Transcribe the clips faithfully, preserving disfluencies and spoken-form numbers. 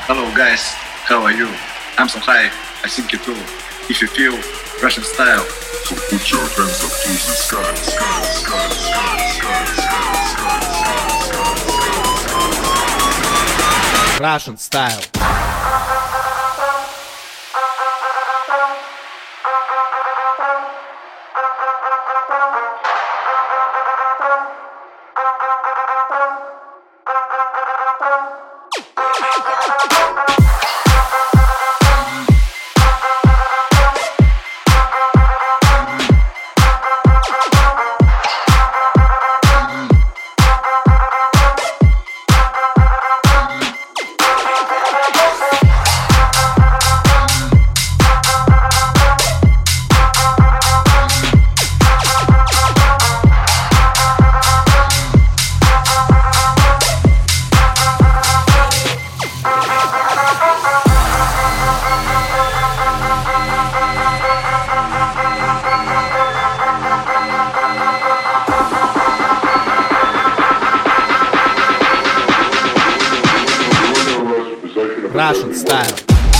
Hello guys, how are you? I'm so high, I think you too. If you feel Russian style, so put your hands up to the sky, sky, sky, sky, sky, sky, sky, sky. Russian style. Russian style.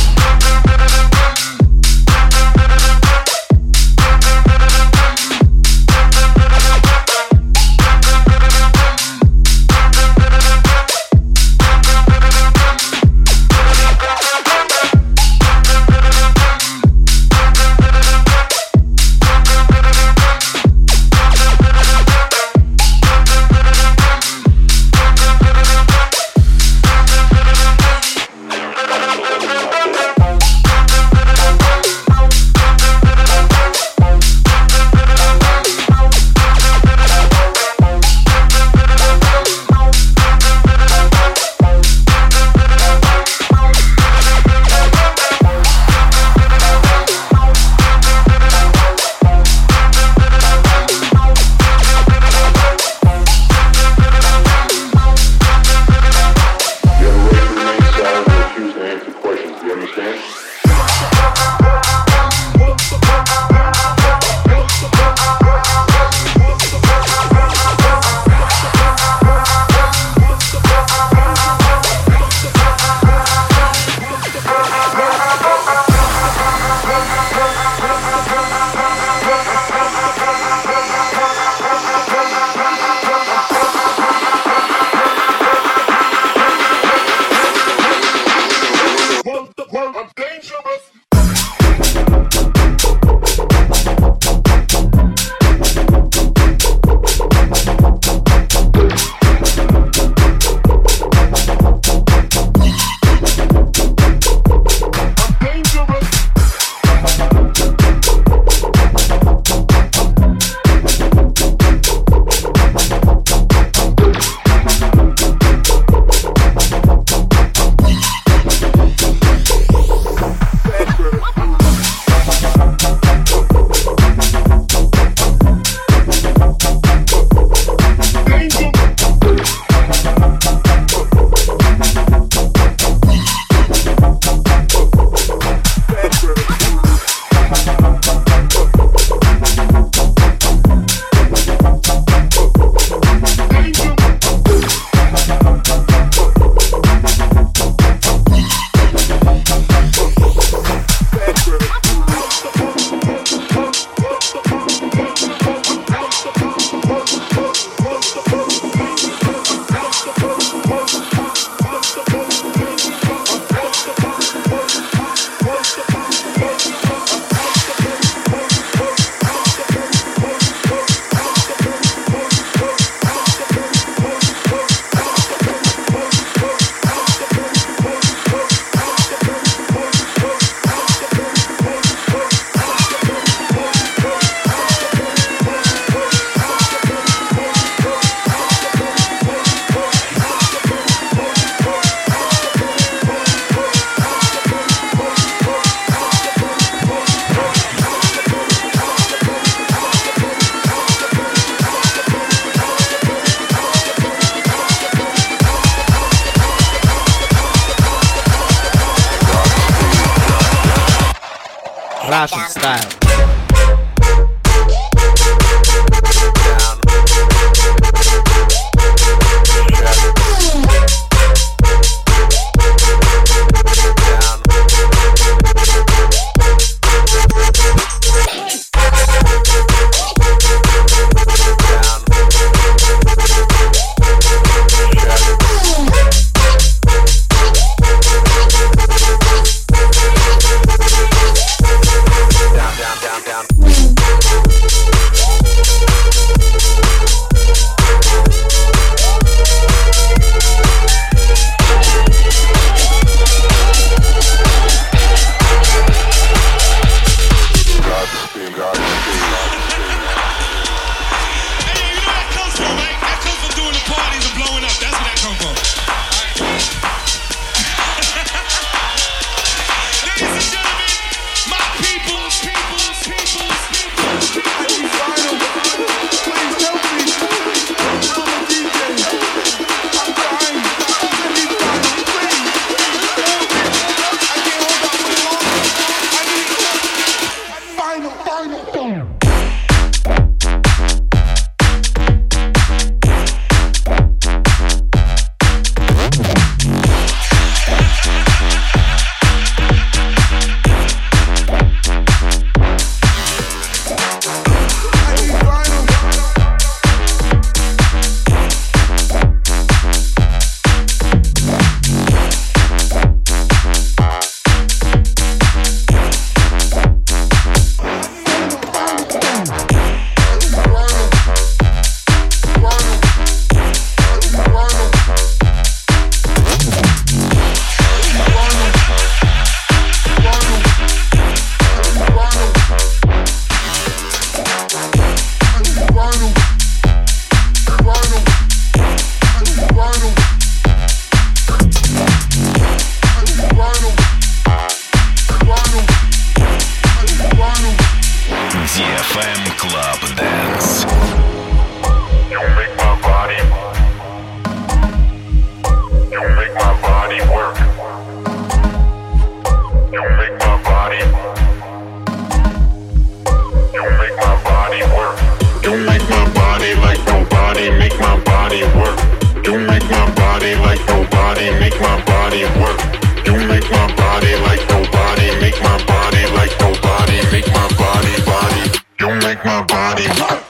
Russian style. body like nobody, make my body work. You make my body like nobody, make my body like nobody, make my body, body. You make my body work.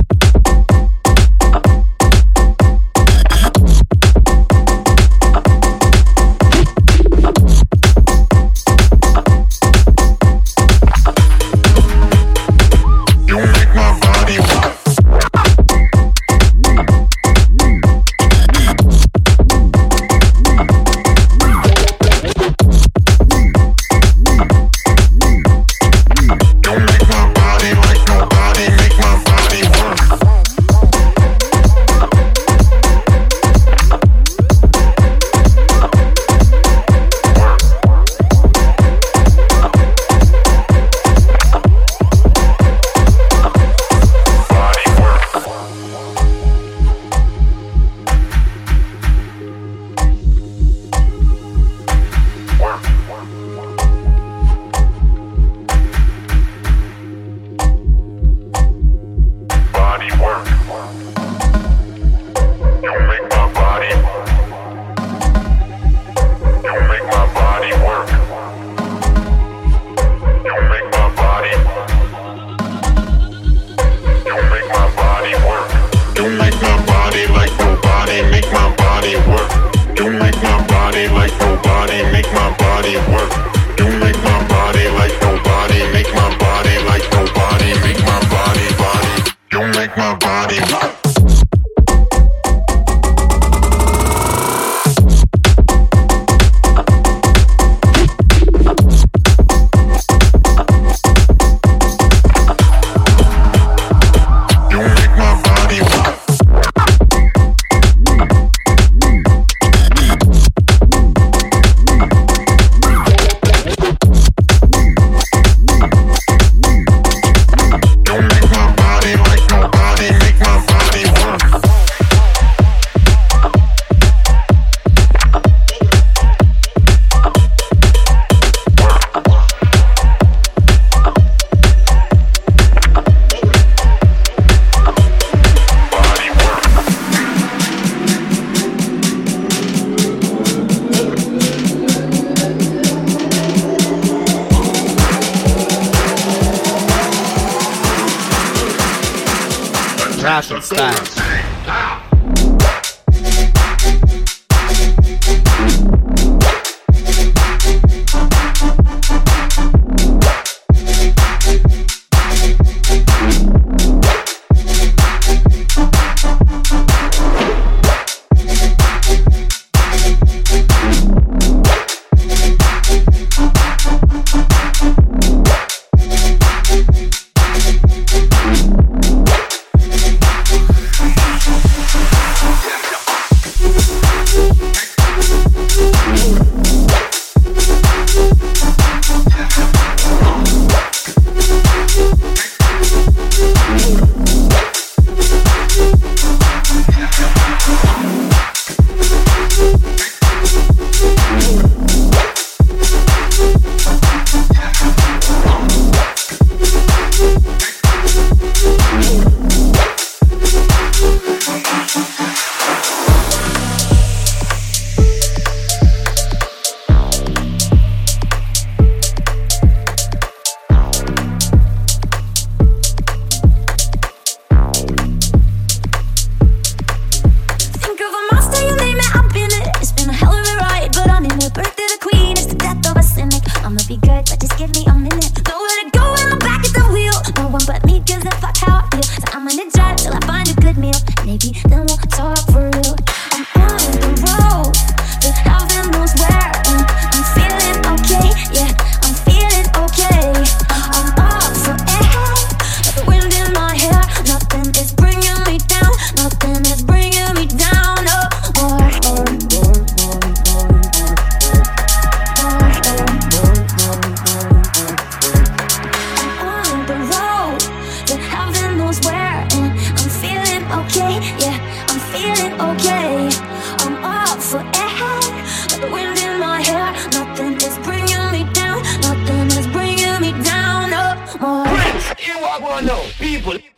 Russian style.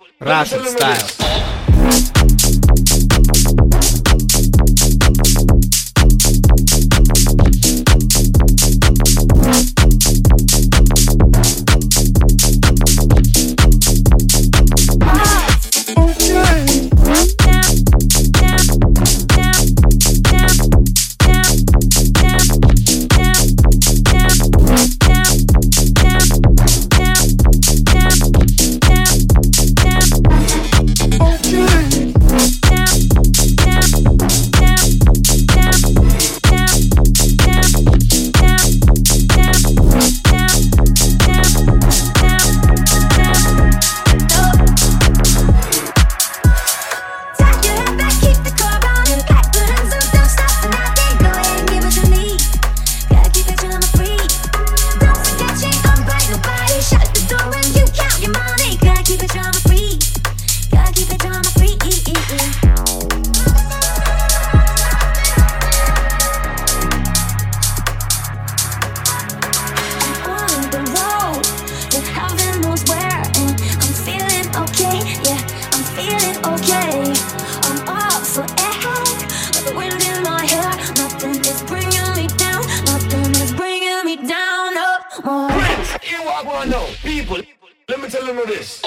Russian style. people, let me tell you this.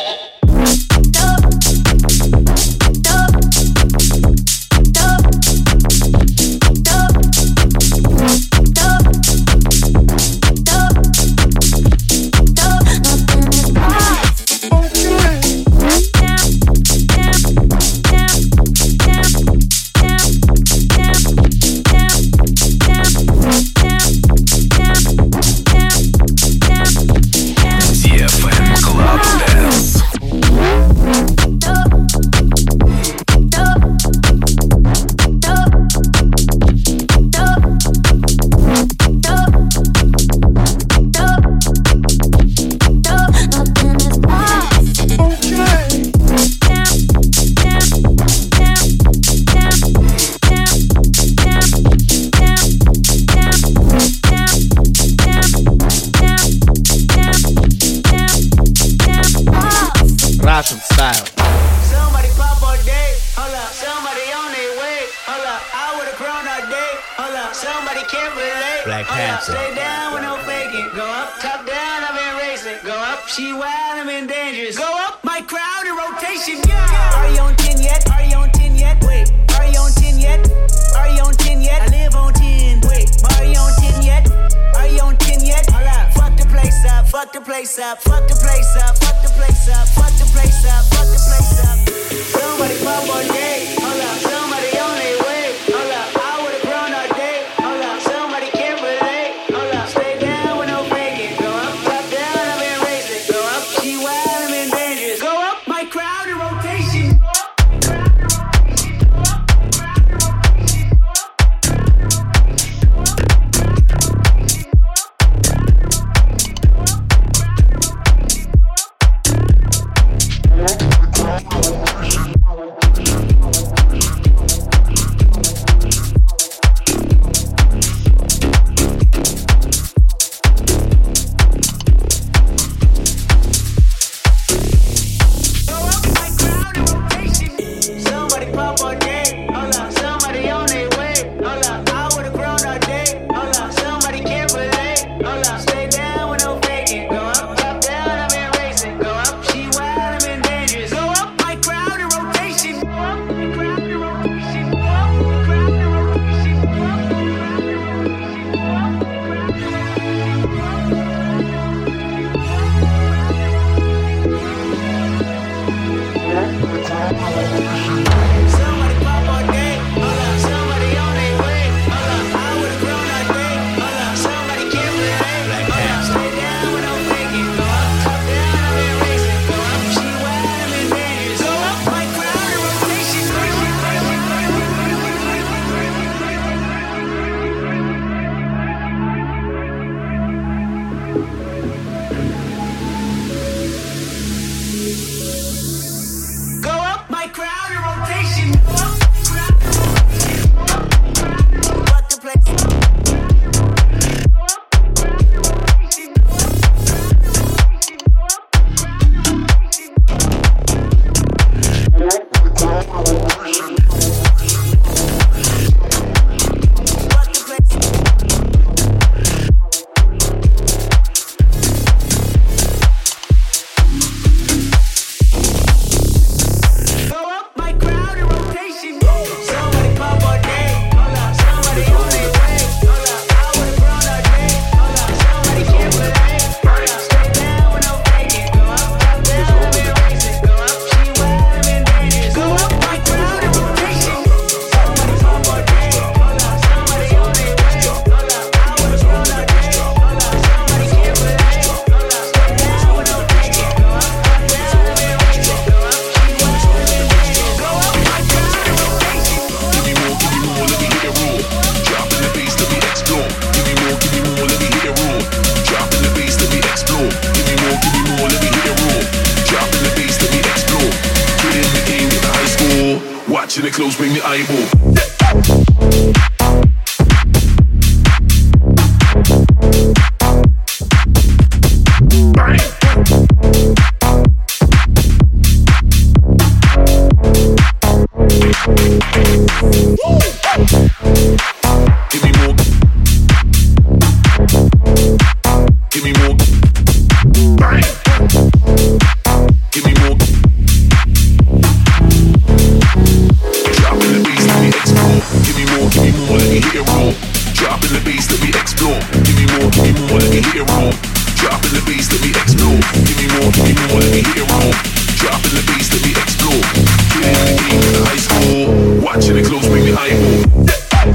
Russian style. Somebody pop all day, hold up. Somebody on their way, hold up. I would've grown all day, hold up. Somebody can't relate, Black hold up. Panther. Stay down with no faking. Go up, top down, I've been racing. Go up, she wild, I'm in dangerous. Go up, my crowd in rotation. Yeah. Are you on ten yet? Are you on ten yet? Wait, are you on ten yet? Are you on ten yet? I live on ten. Wait, are you on ten yet? Are you on ten yet? Hold up, fuck the place up, fuck the place up, fuck the place up, fuck the place up, fuck the place up, fuck the place up. Somebody pop all day, hold up. Somebody on their way, hold up. I would've grown all day, hold up. Somebody can't relate, hold up. Stay down with no faking. Go up, top down, I've been racing. Go up, she wild, I'm in dangerous. Go up, my crowd in rotation. Go up, crowd in rotation. Go up, crowd in rotation. Go up, crowd in rotation. Go up, crowd in rotation. Go up. Somebody pop all day, hold up. Somebody on their way, hold up. I would've grown all day, hold up. Somebody can't relate, hold up. Stay down with no faking. Go up, top down, I've been racing. Go up, she wild, I'm in dangerous. Go up, my crowd in rotation. Go up, my crowd in rotation. Go up, my crowd in rotation. Go up, my crowd in rotation. Go up, my crowd in Somebody pop all day, hold up. Somebody on their way, hold up. I would've grown all day, hold up. Somebody can't relate, hold up. Stay down with no faking. Go up, top down, I've been racing. Go up, she wild, I'm in dangerous. Go up, my crowd in rotation. Go up, my crowd in rotation. Go up, crowd in rotation. Go up, crowd in rotation. Fuck the place. Go up, crowd in rotation. Go up, crowd in rotation. Go up, crowd in rotation. Fuck the place. Go up, my crowd in rotation. Somebody pop all day, hold up. Somebody on their way, hold up. I would've grown all day, hold up. Somebody can't relate, hold up. Stay down with no faking. Go up, top down, I've been racing. Go up, she wild, I'm in dangerous. Go up, my crowd in rotation. Somebody pop all day, hold up. Somebody on their way, hold up. I would've grown all day, hold up. Somebody can't relate, hold up. Stay down with no faking. Go up, top down, I've been racing. Go up, she wild, I'm in dangerous. Go up, my crowd in rotation. Give me more, give me more, let me hit it raw. Drop in the bass, let me explore. Give me more, give me more, let me hit it raw. Drop in the bass, let me explore. Give me more, give me more, let me hit it raw. Drop in the bass, let me explore. Get in the game with the high score. Watching it close, bring the eyeball. Give me more. Give me more. Bang. Dropping the bass, let me explore. Give me more, give me more, let me hit it raw. Dropping the bass, let me explore. Give me more, give me more, let me hit it raw. Dropping the bass, let me explore. Killing the game in the high school. Watching it close, bring the eyeball.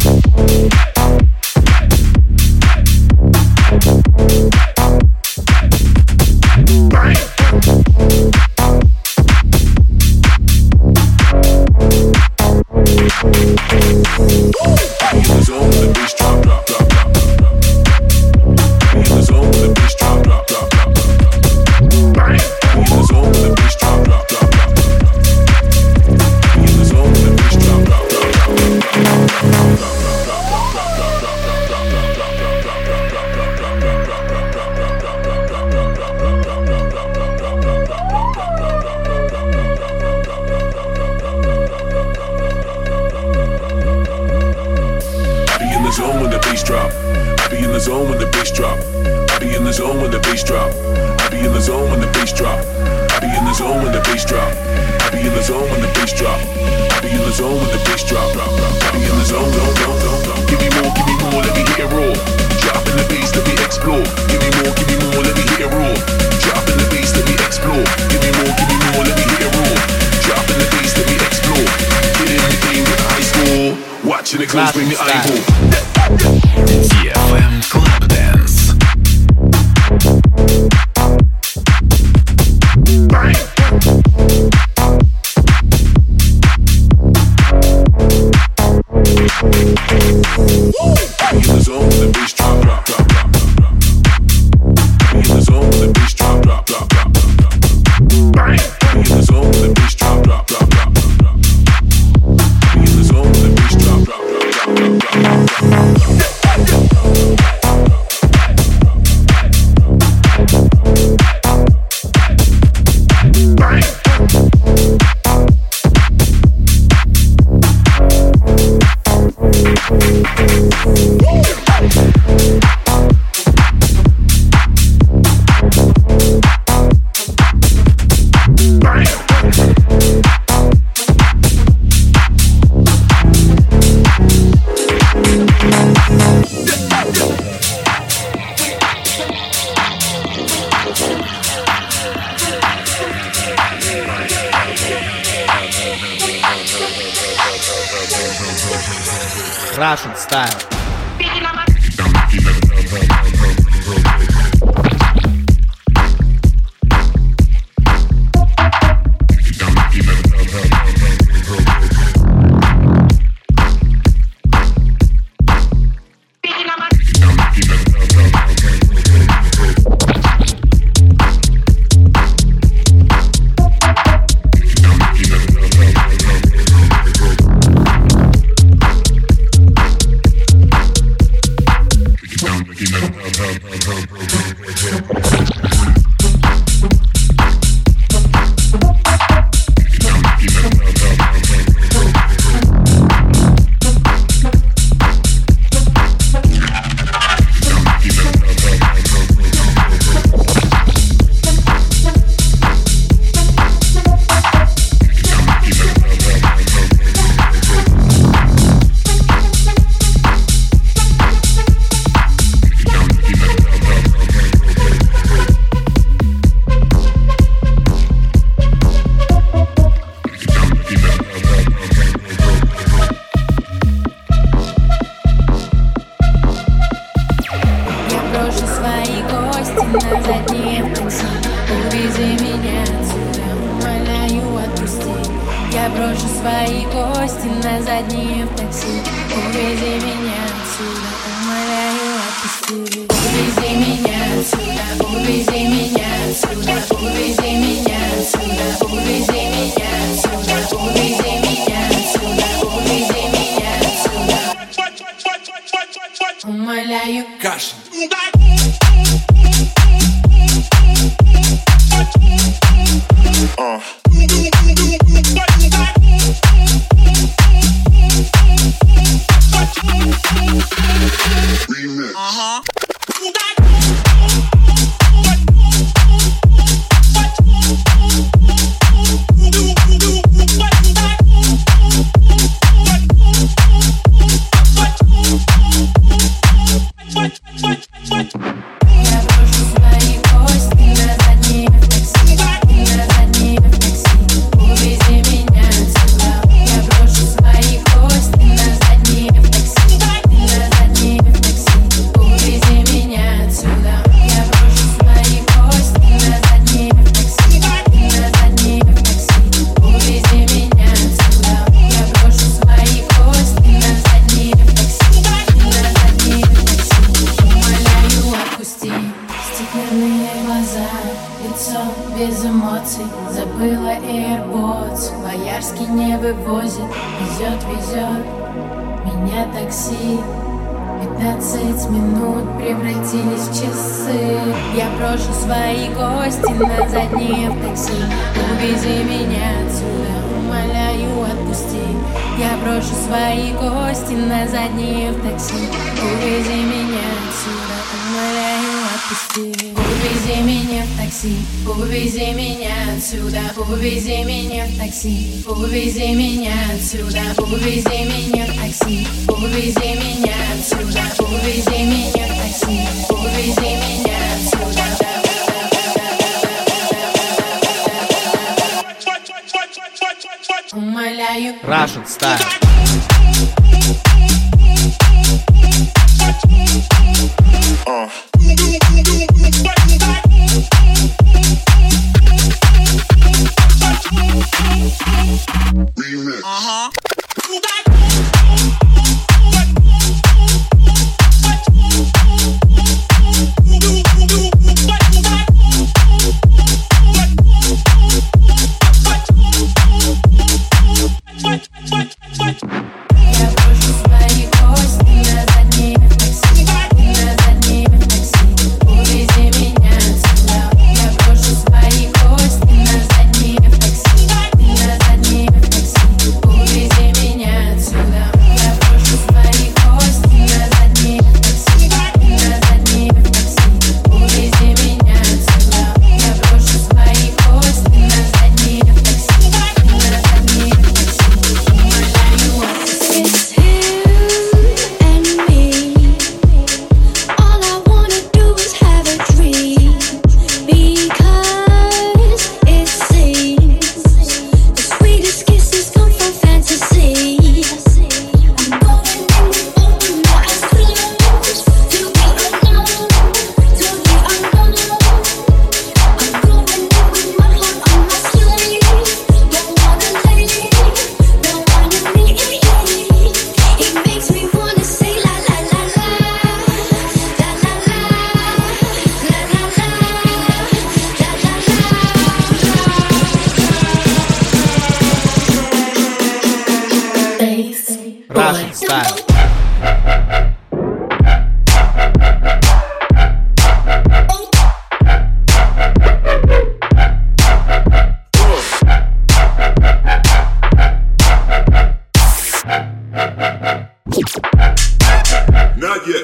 Russian style. Airbots, Боярский не вывозит. Везет, везет меня такси. Пятнадцать минут превратились в часы. Я брошу свои гости на заднее в такси. Увези меня отсюда, умоляю, отпусти. Я брошу свои гости на заднее в такси. Увези меня отсюда, умоляю, отпусти. Увези меня в такси, увези меня отсюда. Увези меня в такси, увези меня отсюда. Увези меня в такси, увези меня отсюда. Увези меня в такси, увези меня отсюда. Умоляю. Russian style. Uh. Remix. Uh-huh. Russian style. Not yet.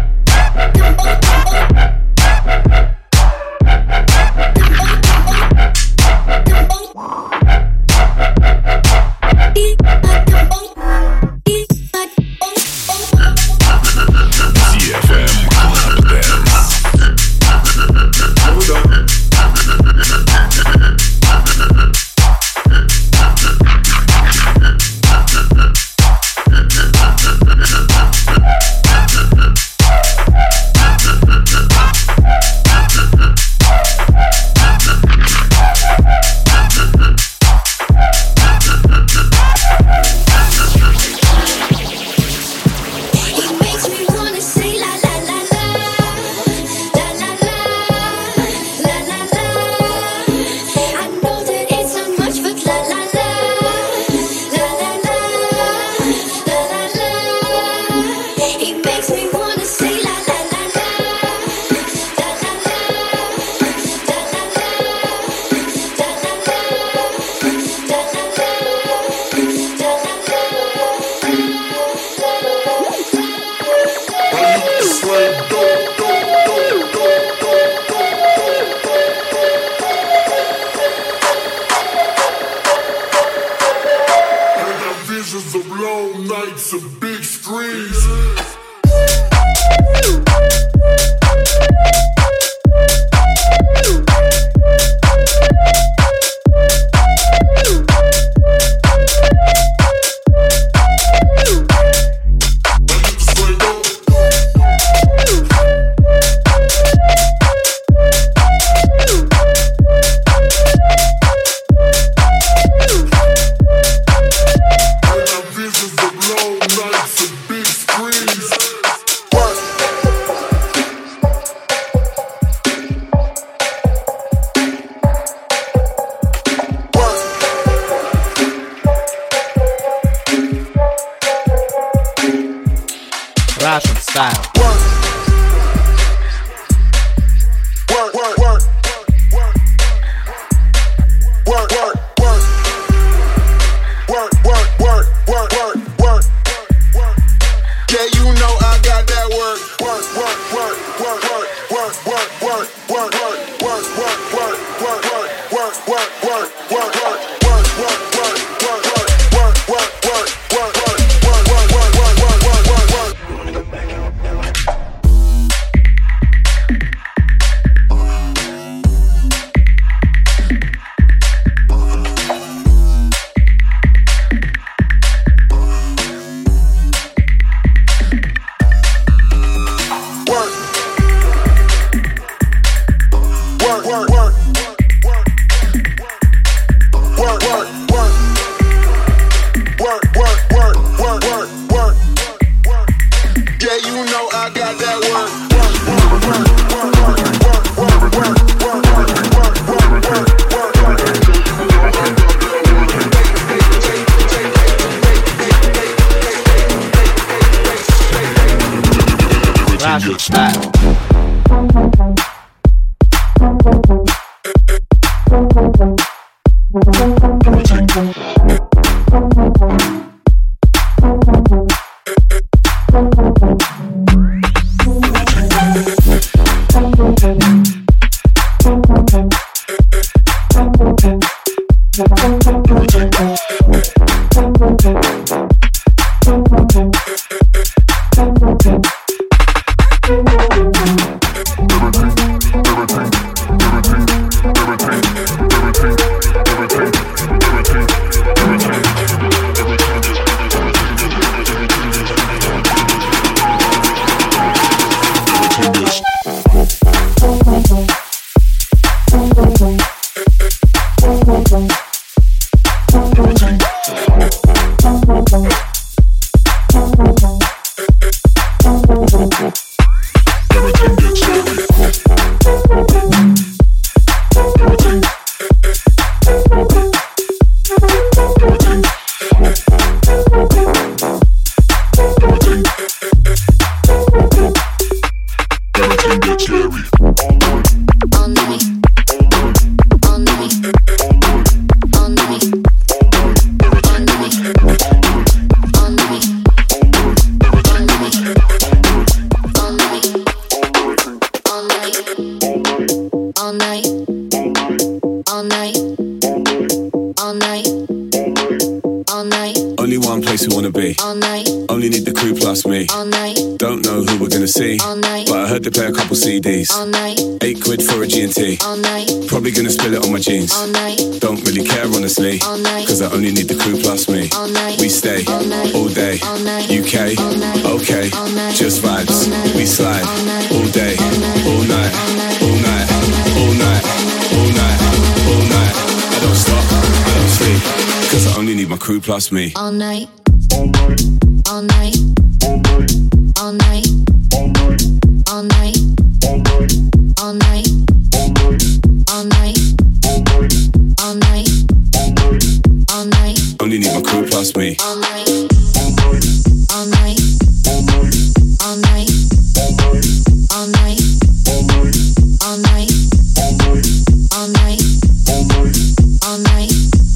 Of long nights and big screens. I style. Work, work, work. Work, work, work. Work, work, work, work, work, work. Yeah, you know I got that work. Work, work, work, work, work, work, work, work, work, work, work, work, work, work, work, work, work, work, work. C Ds, eight quid for a G and T. Probably gonna spill it on my jeans. Don't really care honestly, cause I only need the crew plus me. We stay all day, U K, okay, just vibes. We slide all day, all night, all night, all night, all night, all night. I don't stop, I don't sleep, cause I only need my crew plus me. All night, all night, all night, all night, all night, all night, all night. All night, all night, all night, all night, all night. Only need my crew plus me. All night, all night, all night, all night, all night, all night, all night, all night,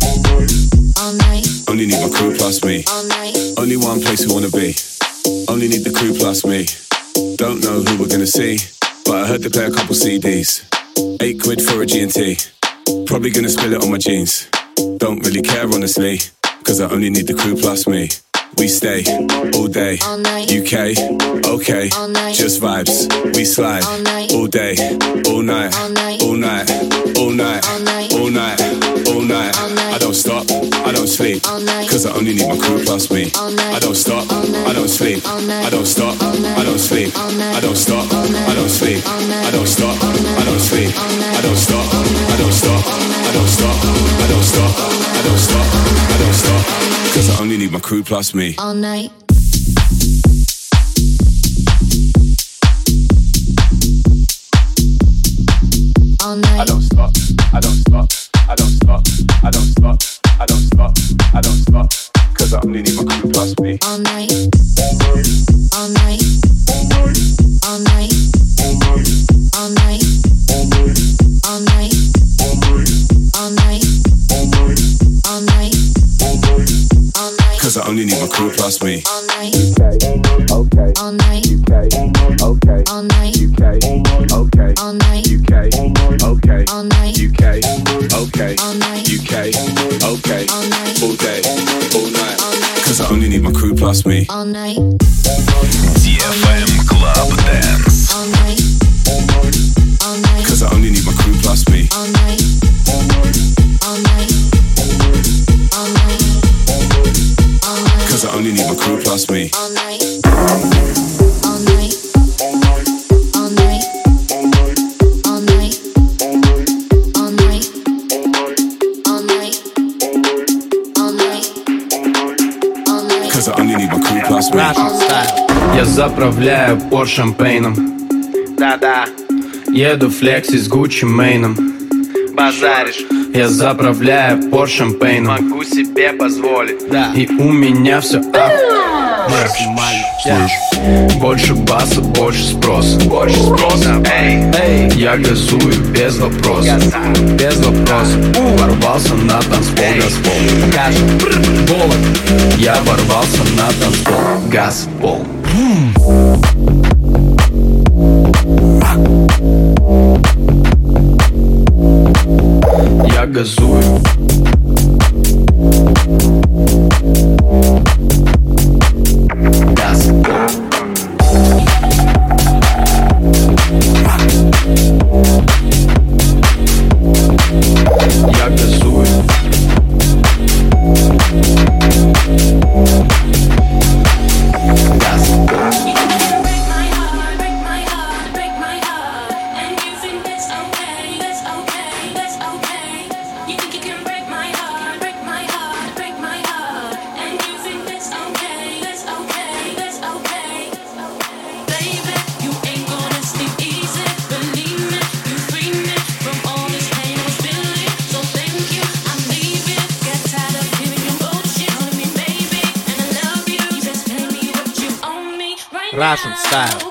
all night. Only need my crew plus me. Only one place we wanna be. Only need the crew plus me. Don't know who we're gonna see, but I heard they play a couple C Ds. Eight quid for a G and T. Probably gonna spill it on my jeans. Don't really care honestly, cause I only need the crew plus me. We stay all day, U K, okay, just vibes. We slide all day, all night, all night, all night, all night, all night. I don't stop, I don't sleep, cause I only need my crew plus me. I don't stop, I don't sleep, I don't stop, I don't sleep, I don't stop, I don't sleep, I don't stop, I don't sleep, I don't stop, I don't stop, I don't stop, I don't stop, I don't stop, I don't stop, cause I only need my crew plus me. All night. All night. I don't stop, I don't stop, I don't stop, I don't stop, I don't stop, I don't stop, Cause I only need my crew plus me. All night, all night, all night, all night, all night, all night, all night, all night. Cause I only need my crew plus me. All night, Okay, all night, okay, all night, okay, okay, all night, okay, okay, all night, U K, okay, all night, U K, okay, all night, all day, all night. all night, Cause I only need my crew plus me. all night, ди эф эм Club Dance. all night, all night, Cause I only need my crew plus me. all night, all night, all night, all night, Cause I only need my crew plus me. all night, all night, all night, all night, all night, all night, all night, all night, all night. Cause I only need my crew plus me. Russian style. Я заправляю пор шампейном. Да-да, Еду флекси с Гуччи Мейном. базаришь, Я заправляю пор шампейном. могу себе позволить. Да, И у меня все ап. максимально. Больше баса, больше спроса. Больше спроса. Эй, Эй, я газую без вопросов. газа, Без вопросов. Ворвался на танцпол, газпол. скажем, Болот. Я ворвался на танцпол, газпол. Я газую. Газпол. Я газую. Газпол. Russian style.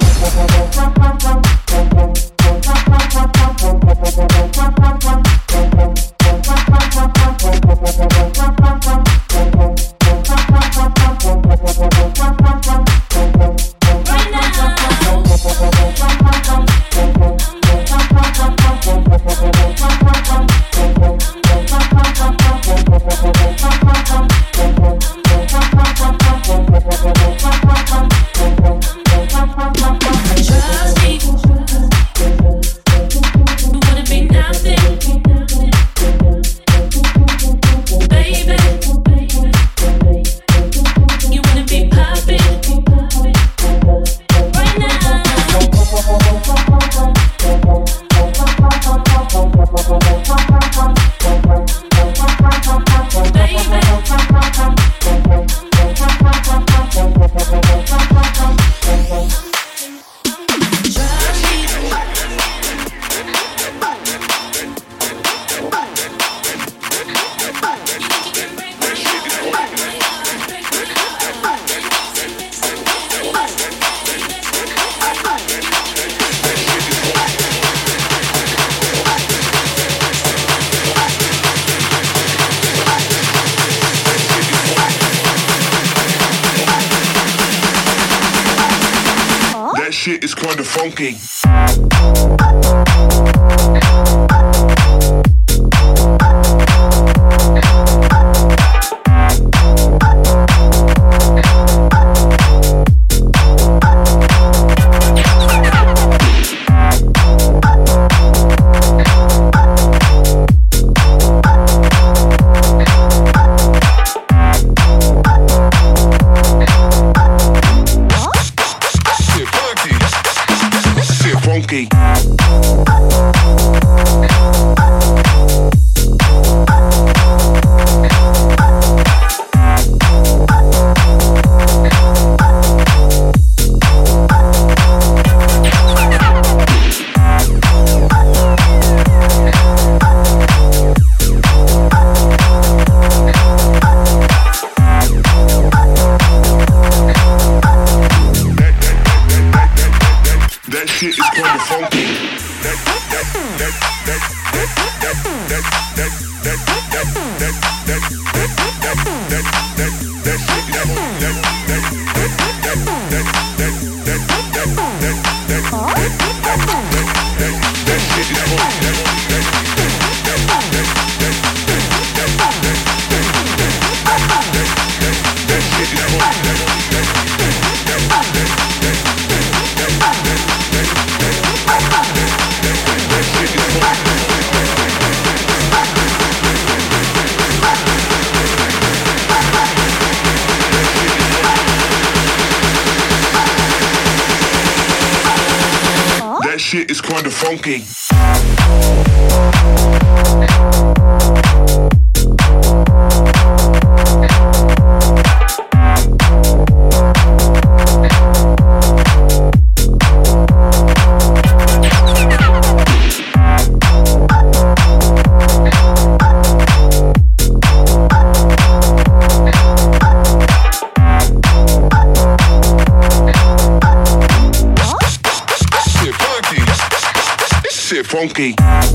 That shit is kinda funky. shit is kinda funky. That that that that that that that that that that that that that that that that that shit is that that that that that that that that that that that shit is funky. That shit is kinda funky. Funky.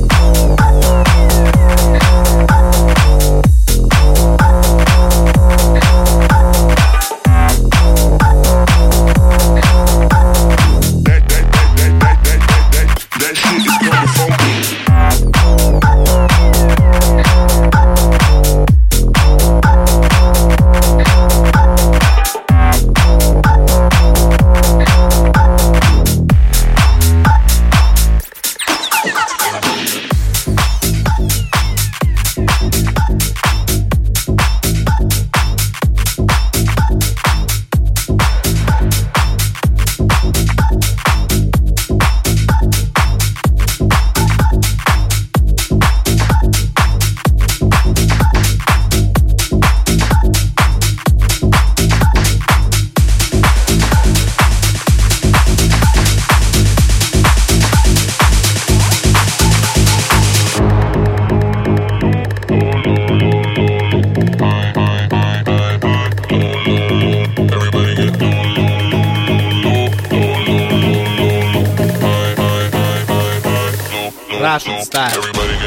Russian style.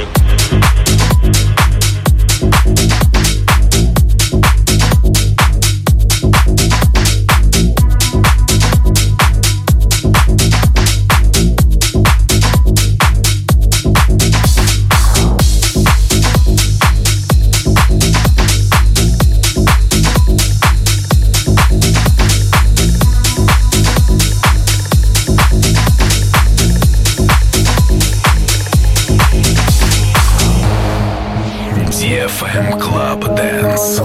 эф эм Club Dance.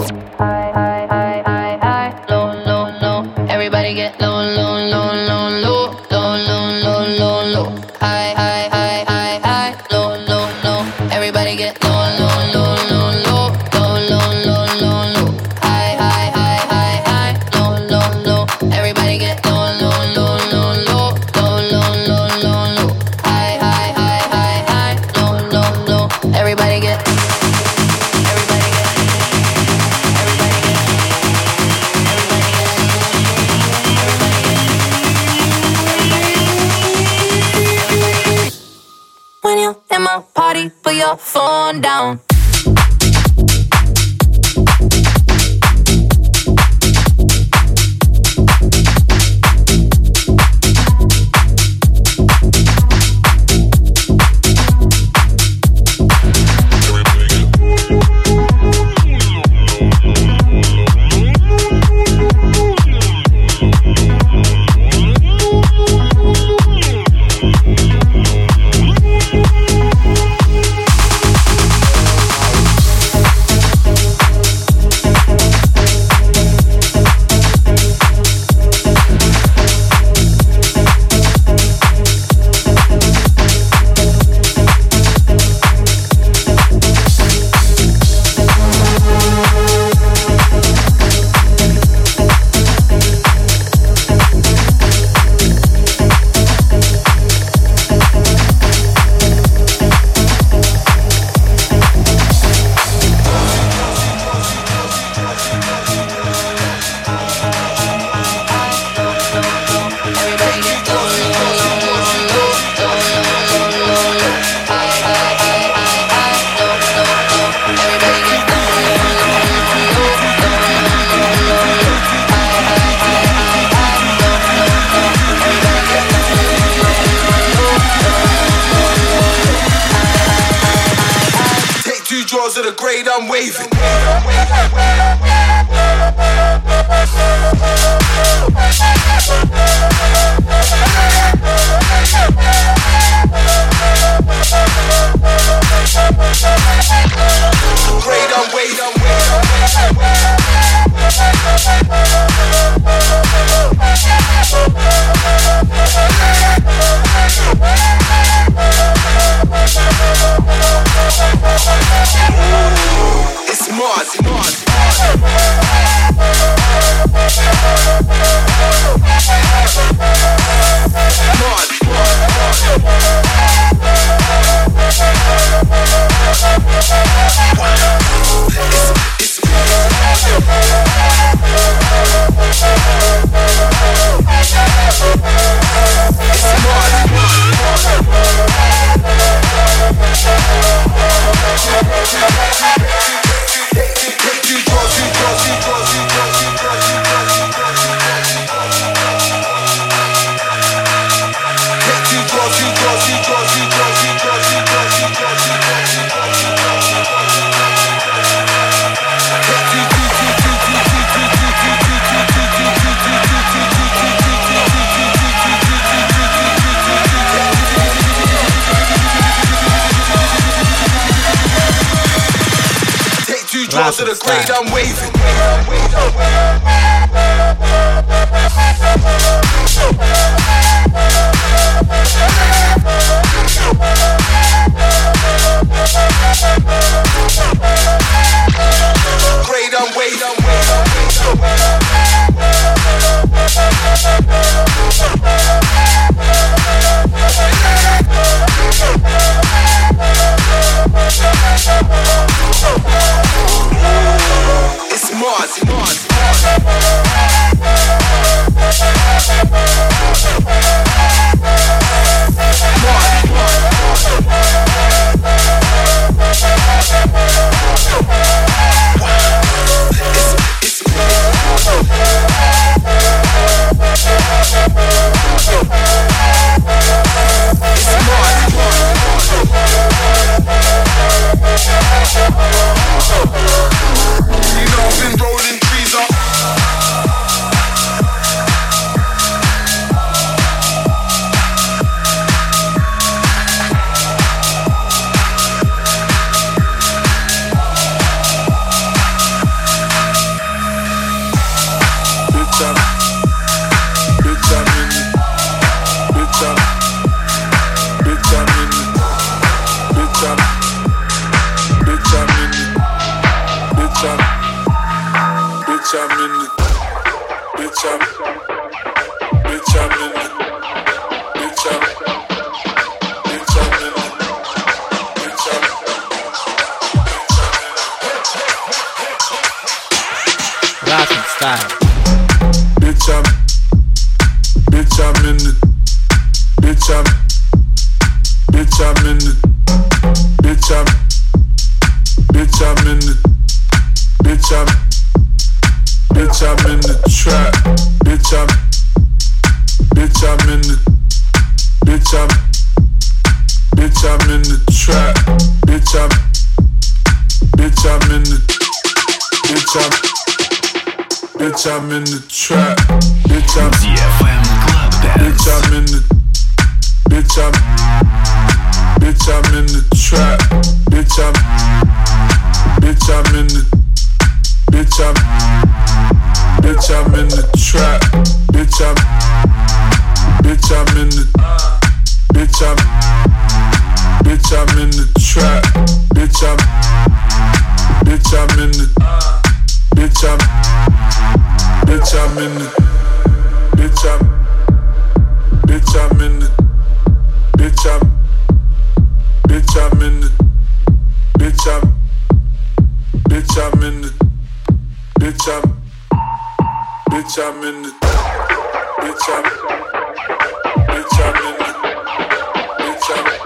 Low, low, low. Everybody get low, low, low, low, low, low, low, low, low, low. High, high, high, high, high. Low, low, low. Everybody get low, low, low, low, low, low, low, low, low, low. High, high, high, high, high. Low, low, low. Everybody get low, low, low, low, low, low, low, low, low, low. High, high, high, high, high. Low, low, low. Everybody get. In my party, put your phone down. to the grade, I'm waving. Grade, I'm waving. It's Mars, Mars, to the grade, I'm waving. Grade, I'm waving. It's Mars, Mars, I'm in the trap, bitch. I'm D F M Club Dance. Bitch, I'm in the, bitch, I'm, bitch, I'm in the trap, bitch, I'm, bitch, I'm in the, bitch, I'm, bitch, I'm in the trap, bitch, I'm, bitch, I'm in the, bitch, I'm, bitch, I'm in the trap, bitch, I'm, bitch, I'm in the, bitch, I'm. Bitch, I'm in the, bitch, I'm, bitch, I'm in the, bitch, I'm, bitch, I'm in the, bitch, I'm, bitch, I'm in the, bitch, I'm, bitch, I'm in the, bitch, I'm, bitch, I'm in the, bitch, I'm, bitch, I'm in the, bitch, I'm.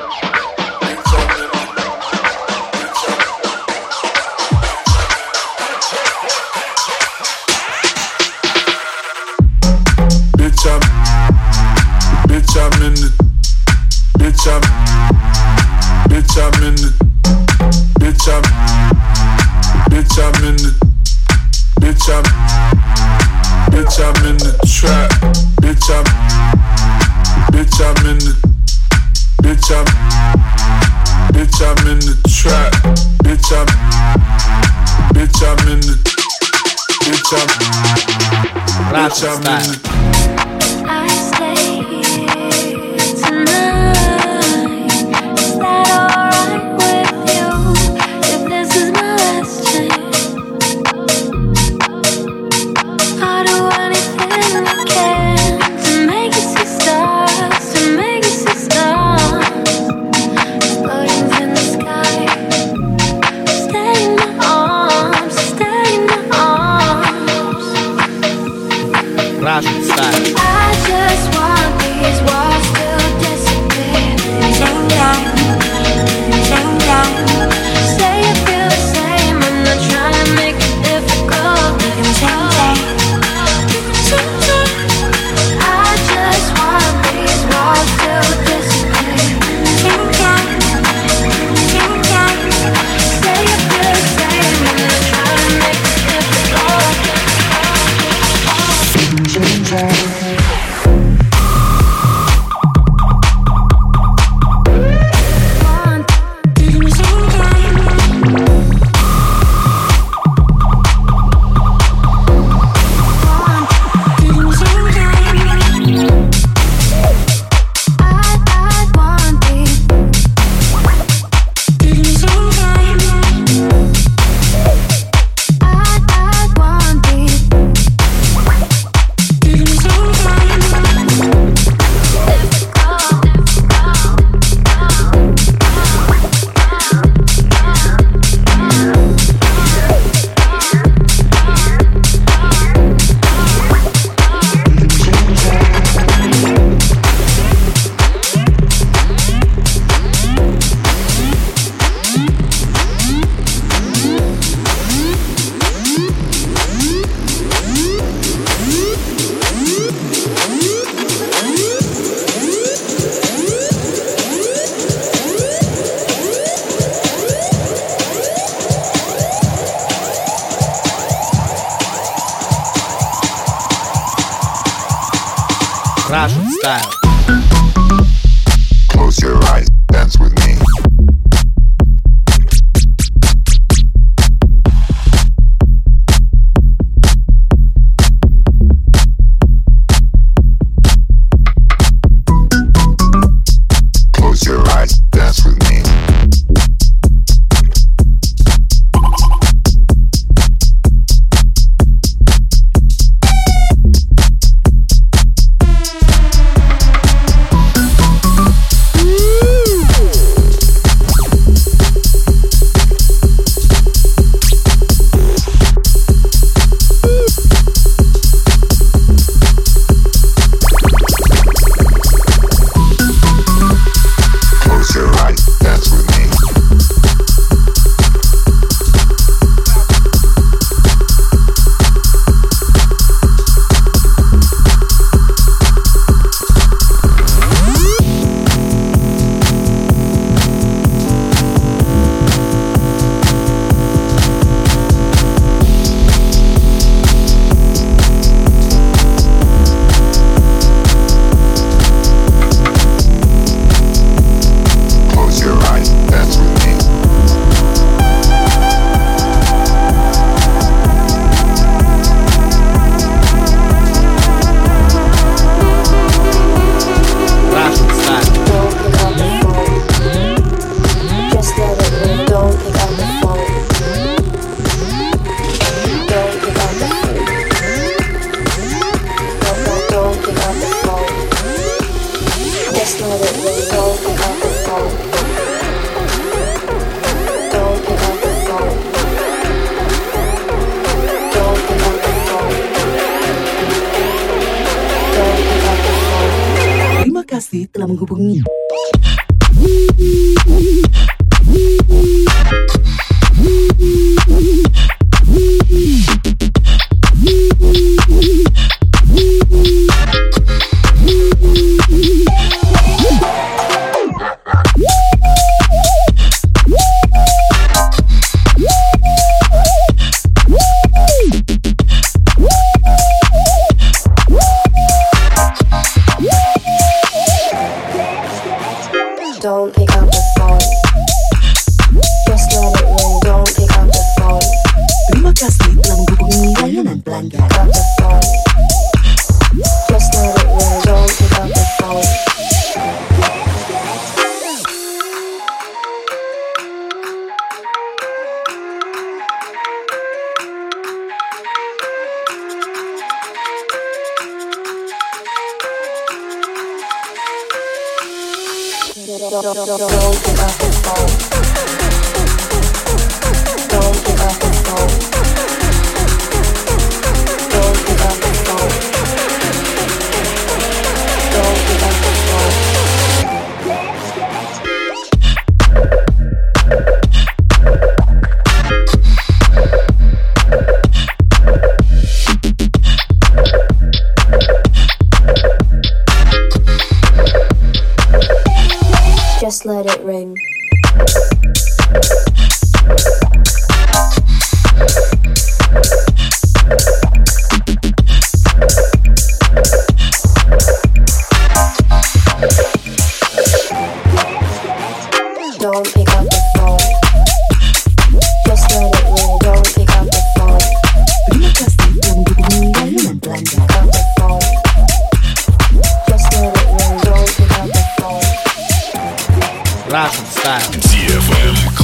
Bitch, I'm in the, bitch, I'm, bitch, I'm in the, bitch, Bitch, I'm, bitch, I'm in the, bitch, I'm, bitch, I'm in the trap. Bitch, I'm, bitch, I'm in the, bitch, I'm, bitch, I'm in the trap. Bitch, I'm, bitch, I'm in the, bitch, I'm, bitch, I'm in the. I stay here tonight. Is that alright with you? If this is my last chance, I'll do anything I can to make you see stars, to make you see stars exploding in the sky. Stay in my arms, stay in my arms. Russian style. I just want these walls to disappear. Sing down, sing down. Say you feel the same. I'm not trying to make it difficult. We can sing down. I just want these walls to disappear. Sing down, sing down. Say you feel the same. I'm not trying to make it difficult. Sing down. Russian style. Close your eyes, dance with me. Close your eyes, dance with me. kasih telah menghubungi. don't pick up the phone. Just let it ring, don't pick up the phone. Terima kasih telah menghubungi layanan pelanggan. Pick up the phone. Just let it ring, don't pick up the phone. Don't, don't, don't, don't pick up the phone. Don't pick up the phone. Don't pick up the phone. Don't pick up the phone. Just let it ring. Don't pick up the phone. Just let it ring. Don't pick up the phone. Terima kasih telah menghubungi layanan pelanggan. Pick up the phone. Just let it ring. Don't pick up the phone. Russian style. ди эф эм